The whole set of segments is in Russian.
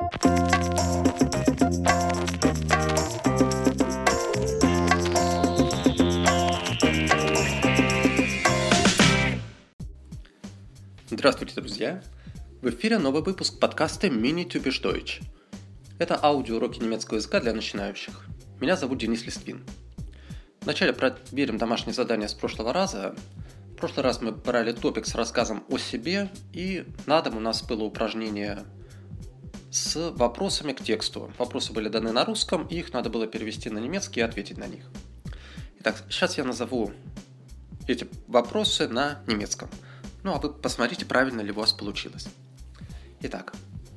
Здравствуйте, друзья! В эфире новый выпуск подкаста Mini Typisch Deutsch. Это аудиоуроки немецкого языка для начинающих. Меня зовут Денис Листвин. Вначале проверим домашнее задание с прошлого раза. В прошлый раз мы брали топик с рассказом о себе, и на дом у нас было упражнение с вопросами к тексту. Вопросы были даны на русском, и их надо было перевести на немецкий и ответить на них. Итак, сейчас я назову эти вопросы на немецком. Ну, а вы посмотрите, правильно ли у вас получилось. Итак.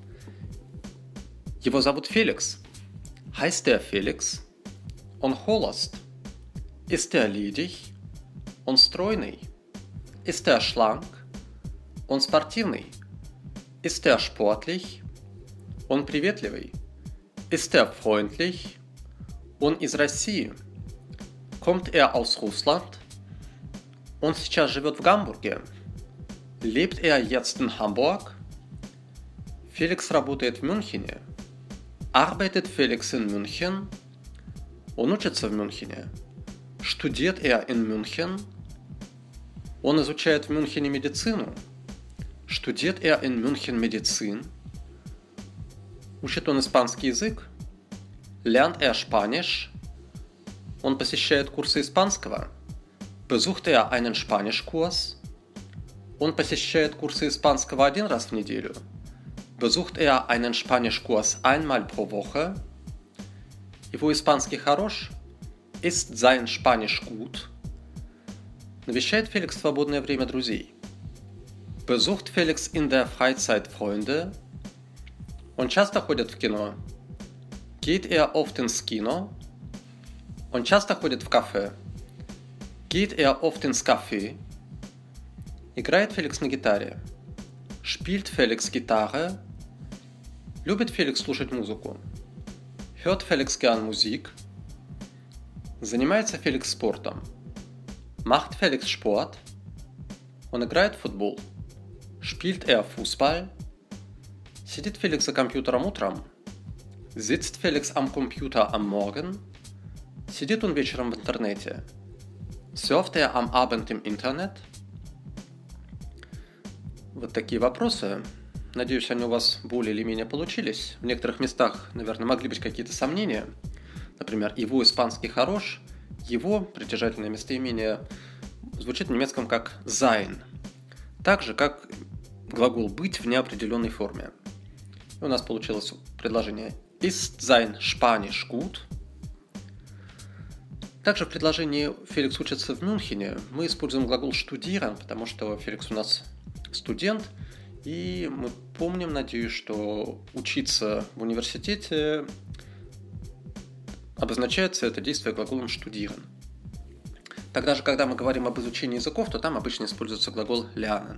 Его зовут Феликс. Heißt der Felix? Он холост. Ist er ledig? Он стройный. Ist er schlank? Он спортивный. Ist er sportlich? Он приветливый. Ist er freundlich? Он из России. Kommt er aus Russland? Он сейчас живет в Гамбурге. Lebt er jetzt in Hamburg? Феликс работает в Мюнхене. Arbeitet Felix in München? Он учится в Мюнхене. Studiert er in München? Он изучает в Мюнхене медицину. Studiert er in München Medizin? Учит он испанский язык. Lernt er Spanisch? Он посещает курсы испанского. Besucht er einen Spanischkurs? Он посещает курсы испанского один раз в неделю. Besucht er einen Spanischkurs einmal pro Woche? Его испанский хорош? Ist sein Spanisch gut? Навещает Феликс в свободное время друзей. Besucht Felix in der Freizeit Freunde? Он часто ходит в кино. Geht er oft ins Kino? Он часто ходит в кафе. Geht er oft ins Café? Играет Феликс на гитаре. Spielt Felix Gitarre? Любит Феликс слушать музыку. Hört Felix gern Musik? Занимается Феликс спортом. Macht Felix Sport? Он играет в футбол. Spielt er Fußball? Сидит Феликс за компьютером утром. Sitzt Felix am Computer am Morgen? Сидит он вечером в интернете. Surft er am Abend im Internet? Вот такие вопросы. Надеюсь, они у вас более или менее получились. В некоторых местах, наверное, могли быть какие-то сомнения. Например, его испанский хорош. Его, притяжательное местоимение, звучит в немецком как sein. Так же, как глагол быть в неопределенной форме. И у нас получилось предложение Ist sein Spanisch gut? Также в предложении Феликс учится в Мюнхене мы используем глагол studieren, потому что Феликс у нас студент, и мы помним, надеюсь, что учиться в университете обозначается это действие глаголом studieren. Тогда же, когда мы говорим об изучении языков, то там обычно используется глагол lernen.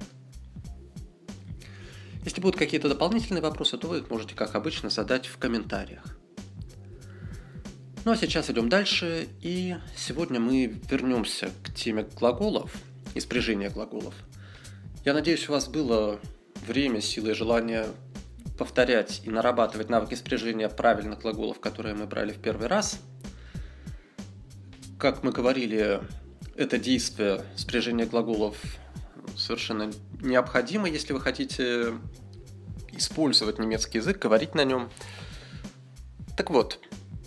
Если будут какие-то дополнительные вопросы, то вы их можете, как обычно, задать в комментариях. Ну а сейчас идем дальше, и сегодня мы вернемся к теме глаголов и спряжения глаголов. Я надеюсь, у вас было время, сила и желание повторять и нарабатывать навыки спряжения правильных глаголов, которые мы брали в первый раз. Как мы говорили, это действие спряжения глаголов совершенно необходимо, если вы хотите использовать немецкий язык, говорить на нем. Так вот,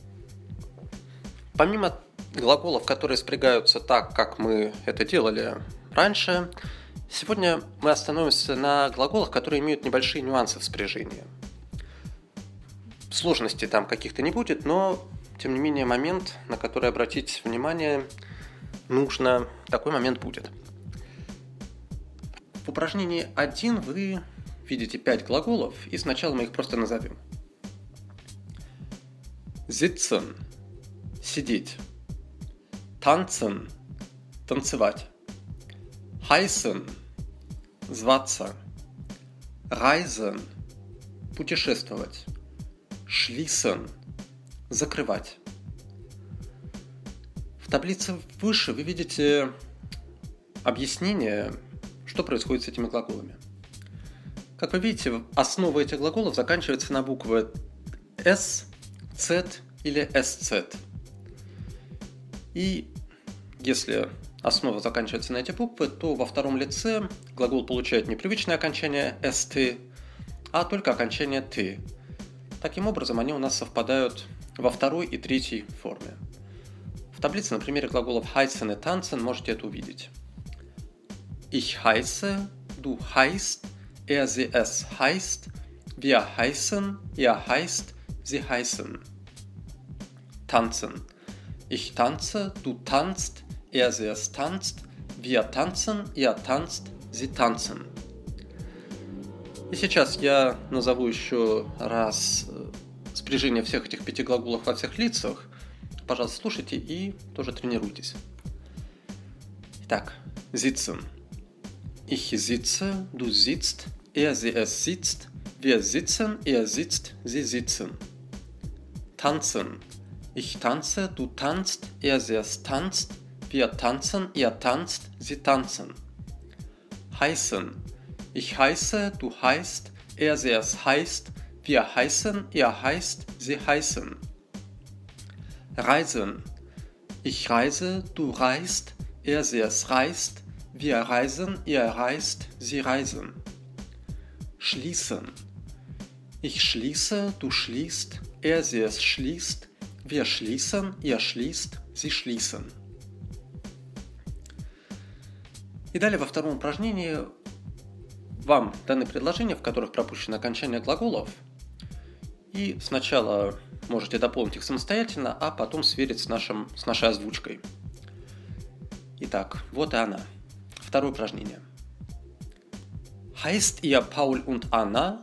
помимо глаголов, которые спрягаются так, как мы это делали раньше, сегодня мы остановимся на глаголах, которые имеют небольшие нюансы в спряжении. Сложностей там каких-то не будет, но, тем не менее, момент, на который обратить внимание нужно, такой момент будет. В упражнении 1 вы видите 5 глаголов, и сначала мы их просто назовем. Sitzen – сидеть. Tanzen – танцевать. Heißen – зваться. Reisen – путешествовать. Schließen – закрывать. В таблице выше вы видите объяснение, что происходит с этими глаголами. Как вы видите, основа этих глаголов заканчивается на буквы S, Z или SZ. И если основа заканчивается на эти буквы, то во втором лице глагол получает не привычное окончание «st», а только окончание «t». Таким образом, они у нас совпадают во второй и третьей форме. В таблице на примере глаголов heißen и tanzen можете это увидеть. Ich heiße, du heißt, sie, es heißt, wir heißen, ihr heißt, sie heißen. Tanzen. Ich tanze, du tanzt, sie, es tanzt, wir tanzen, ihr tanzt, sie tanzen. И сейчас я назову еще раз спряжение всех этих 5 глаголов во всех лицах. Пожалуйста, слушайте и тоже тренируйтесь. Итак, sitzen. Ich sitze, du sitzt, sie, es sitzt, wir sitzen, sitzt, sie sitzen. Tanzen. Ich tanze, du tanzt, sie, es tanzt, wir tanzen, ihr tanzt, sie tanzen. Heißen. Ich heiße, du heißt, sie, es heißt, wir heißen, ihr heißt, sie heißen. Reisen. Ich reise, du reist, sie, es reist, wir reisen, ihr reist, sie reisen. Schließen. Ich schließe, du schließt, sie, es schließt, wir schließen, ihr schließt, sie schließen. И далее во втором упражнении вам даны предложения, в которых пропущено окончание глаголов. И сначала можете дополнить их самостоятельно, а потом сверить с нашей озвучкой. Итак, вот и она. Второе упражнение. Heißt ihr Paul und Anna?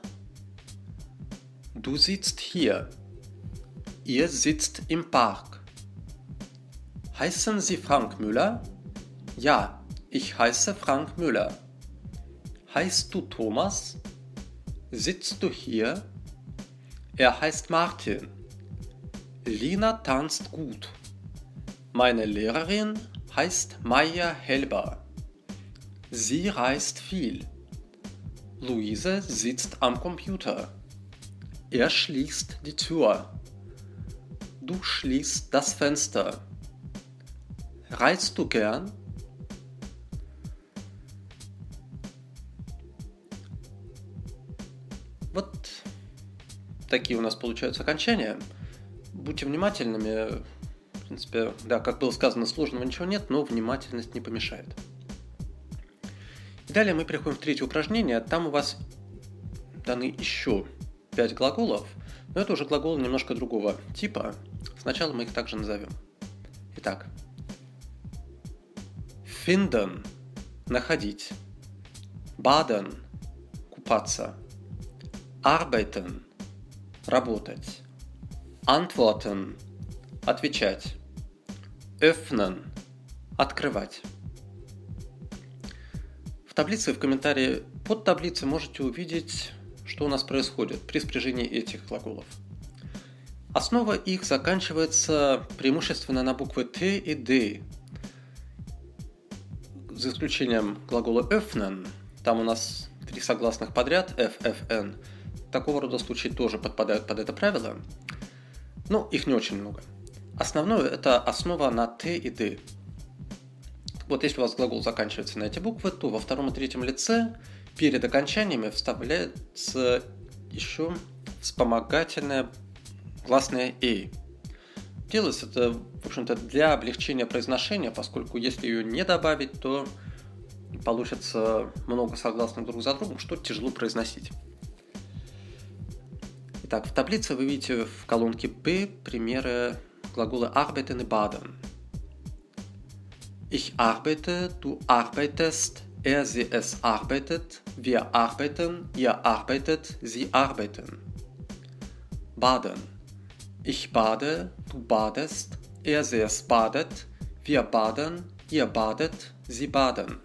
Du sitzt hier. Ihr sitzt im Park. Heißen Sie Frank Müller? Ja, ich heiße Frank Müller. Heißt du Thomas? Sitzt du hier? Er heißt Martin. Lina tanzt gut. Meine Lehrerin heißt Maja Helber. Sie reist viel. Luise sitzt am Computer. Er schließt die Tür. Du schließt das Fenster. Reist du gern? Вот такие у нас получаются окончания. Будьте внимательными. В принципе, да, как было сказано, сложного ничего нет, но внимательность не помешает. И далее мы переходим в третье упражнение. Там у вас даны еще 5 глаголов, но это уже глаголы немножко другого типа. Сначала мы их также назовем. Итак. Finden – находить. Baden – купаться. Arbeiten – работать. Antworten – отвечать. Öffnen – открывать. В таблице и в комментарии под таблицей можете увидеть, что у нас происходит при спряжении этих глаголов. Основа их заканчивается преимущественно на буквы Т и Д. За исключением глагола öffnen, там у нас 3 согласных подряд, F, F, N. Такого рода случаи тоже подпадают под это правило, но их не очень много. Основное – это основа на Т и Д. Вот если у вас глагол заканчивается на эти буквы, то во втором и третьем лице перед окончаниями вставляется еще вспомогательное гласное «э». Делается это, в общем-то, для облегчения произношения, поскольку если ее не добавить, то получится много согласных друг за другом, что тяжело произносить. Итак, в таблице вы видите в колонке «Б» примеры глагола arbeiten и baden. Ich arbeite, du arbeitest, sie, es arbeitet, wir arbeiten, ihr arbeitet, sie arbeiten. Baden. Ich bade, du badest, sie, es badet, wir baden, ihr badet, sie baden.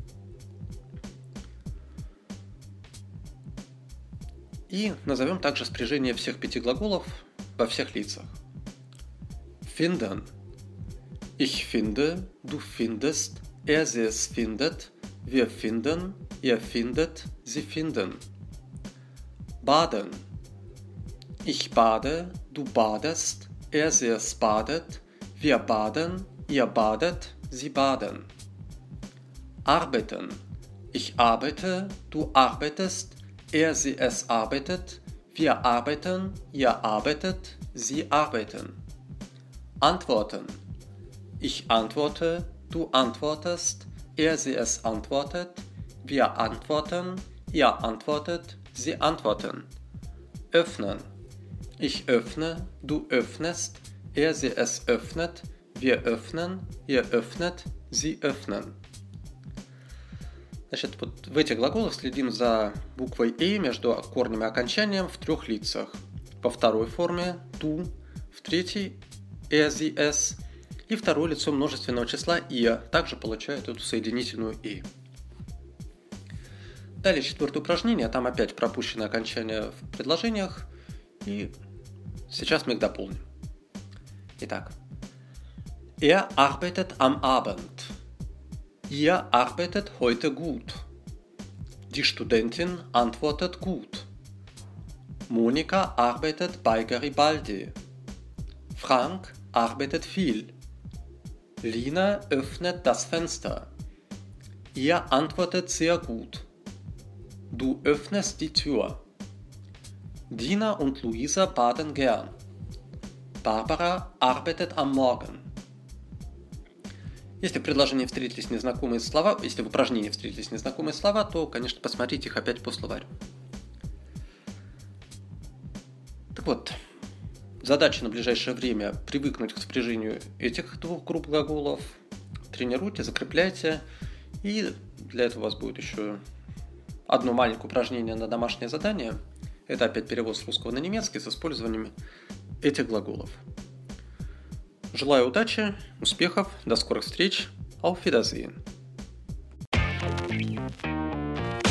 И назовем также спряжение всех 5 глаголов во всех лицах. Finden. Ich finde, du findest, sie, es findet, wir finden, ihr findet, sie finden. baden. Ich bade, du badest, sie es badet, wir baden, ihr badet, sie baden. Arbeiten. Ich arbeite, du arbeitest, sie es arbeitet, wir arbeiten, ihr arbeitet, sie arbeiten. Antworten. Ich antworte, du antwortest, sie es antwortet, wir antworten, ihr antwortet, sie antworten. Öffnen. Ich öffne, du öffnest, sie es öffnet, wir öffnen, ihr öffnet, sie öffnen. Значит, вот в этих глаголах следим за буквой «и» между корнем и окончанием в трех лицах. Во второй форме «ту», в третьей «sie es» и второе лицо множественного числа «ihr» также получает эту соединительную «и». Далее четвертое упражнение, там опять пропущено окончание в предложениях, и сейчас мы их дополним. Итак. Arbeitet am Abend. Ihr arbeitet heute gut. Die Studentin antwortet gut. Monika arbeitet bei Garibaldi. Frank arbeitet viel. Lina öffnet das Fenster. Ihr antwortet sehr gut. Du öffnest die Tür. Dina und Luisa baden gern. Barbara arbeitet am Morgen. Если в предложении встретились незнакомые слова, если в упражнении встретились незнакомые слова, то, конечно, посмотрите их опять по словарю. Так вот, задача на ближайшее время привыкнуть к спряжению этих двух групп глаголов. Тренируйте, закрепляйте. И для этого у вас будет еще одно маленькое упражнение на домашнее задание. Это опять перевод с русского на немецкий с использованием этих глаголов. Желаю удачи, успехов, до скорых встреч. Auf Wiedersehen.